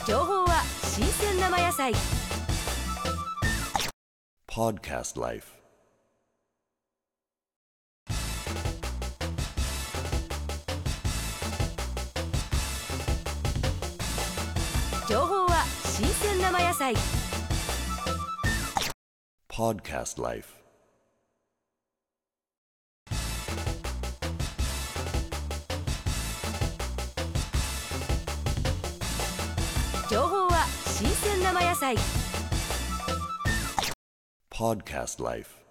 情報は新鮮生野菜。 Podcast Life. 情報は新鮮生野菜。 Podcast Life. 情報は新鮮生野菜。 Podcast Life.